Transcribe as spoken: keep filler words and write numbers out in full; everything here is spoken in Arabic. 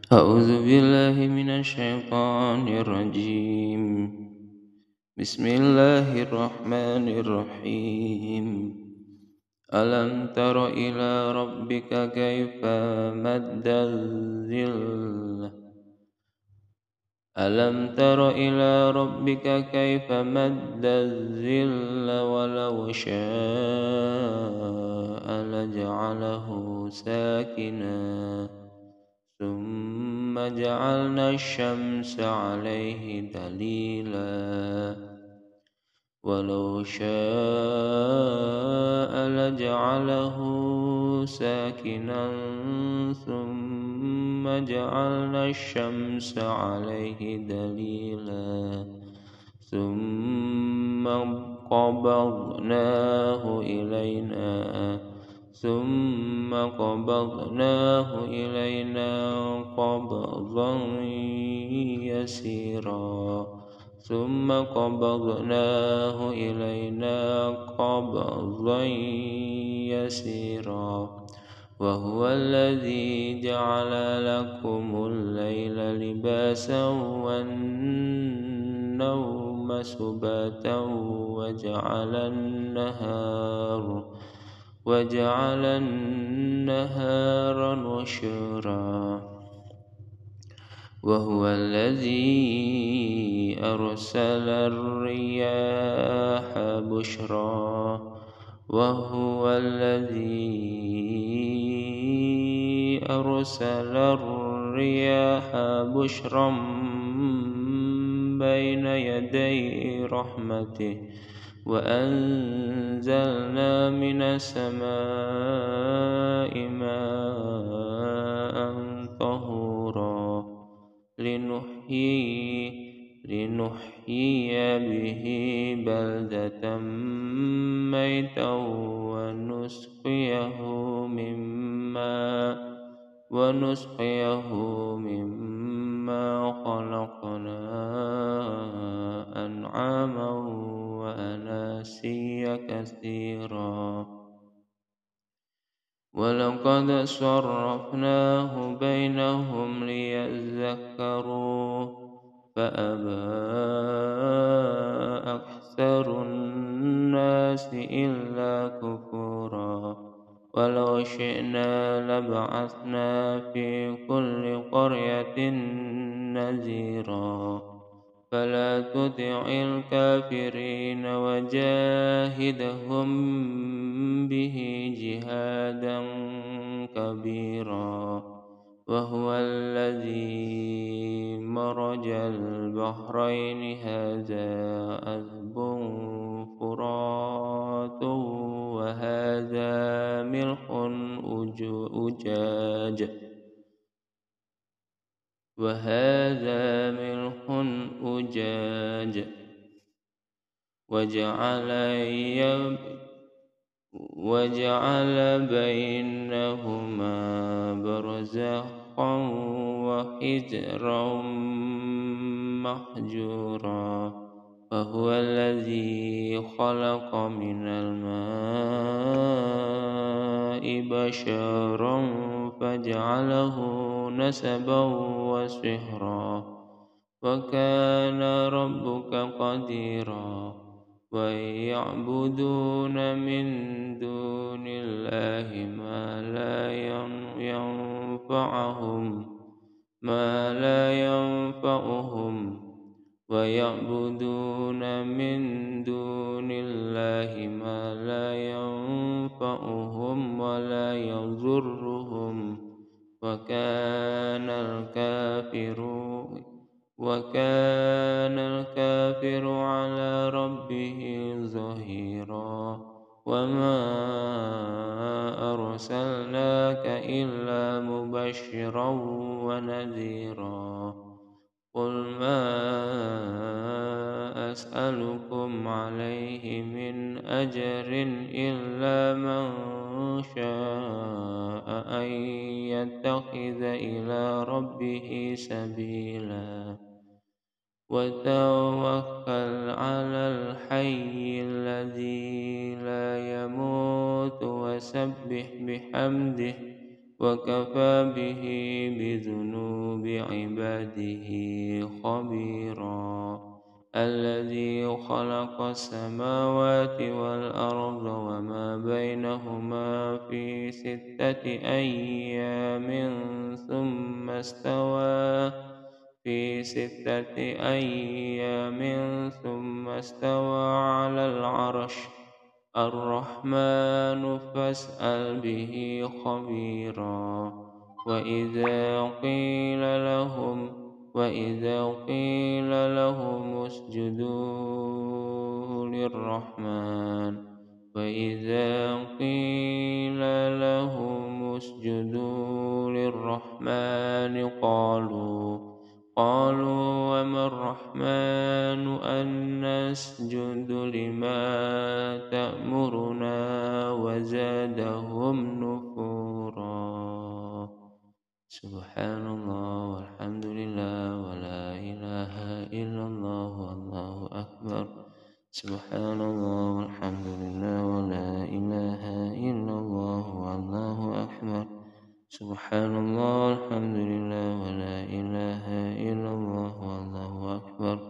أعوذ بالله من الشيطان الرجيم. بسم الله الرحمن الرحيم. ألم تر إلى ربك كيف مد الظل ألم تر إلى ربك كيف مد الظل ولو شاء لجعله ساكنا ثم جعلنا الشمس عليه دليلا ولو شاء لجعله ساكنا ثم جعلنا الشمس عليه دليلا ثم قبضناه إلينا ثم قبضناه إلينا قبضا يسيرا ثم قبضناه إلينا قبضا يسيرا وهو الذي جعل لكم الليل لباسا والنوم سباتا وجعل النهار وجعل النهار نشورا وهو الذي أرسل الرياح بشرا وهو الذي أرسل الرياح بشرا بين يدي رحمته وأنزلنا من السماء ماء طهورا لنحيي لنحيي به بلدة ميتا ونسقيه مما ونسقيه مما خلقنا أنعاما وأناسيا كثيرا ولقد صرفناه بينهم ليذكروا فأبى أكثر الناس إلا كفورا ولو شئنا لبعثنا في كل قرية نذيرا فلا تطع الكافرين وجاهدهم به جهادا كبيرا وهو الذي مرج البحرين هذا عذب فرات وهذا ملح أجاج وهذا ملح أجاج وجعل وجعل بينهما برزخا وحجرا محجورا وهو الذي خلق من الماء بشرا فجعله نسبا وسحرا وكان ربك قديرا ويعبدون من دون الله ما لا ينفعهم ما لا ينفعهم ويعبدون من دون الله ما لا ينفعهم ولا يضرهم وكان الكافر وكان الكافر على ربه ظهيرا وما أرسلناك إلا مبشرا ونذيرا قل ما أسألكم عليه من أجر إلا من شاء أن يتخذ إلى ربه سبيلا وتوكل على الحي الذي لا يموت وسبح بحمده وكفى به بذنوب عباده خبيرا الذي خلق السماوات والأرض وما بينهما في ستة أيام ثم استوى في ستة أيام ثم استوى على العرش الرحمن فاسأل به خبيرا وإذا قيل لهم وإذا قيل لهم اسجدوا للرحمن وإذا قيل لهم اسجدوا للرحمن قالوا قالوا وما الرحمن أن نسجد لما تأمرنا وزادهم نفورا سبحان الله والحمد لله ولا إله إلا الله والله أكبر سبحان الله والحمد لله ولا إله إلا الله والله أكبر سبحان الله والحمد لله ولا إله إلا الله والله أكبر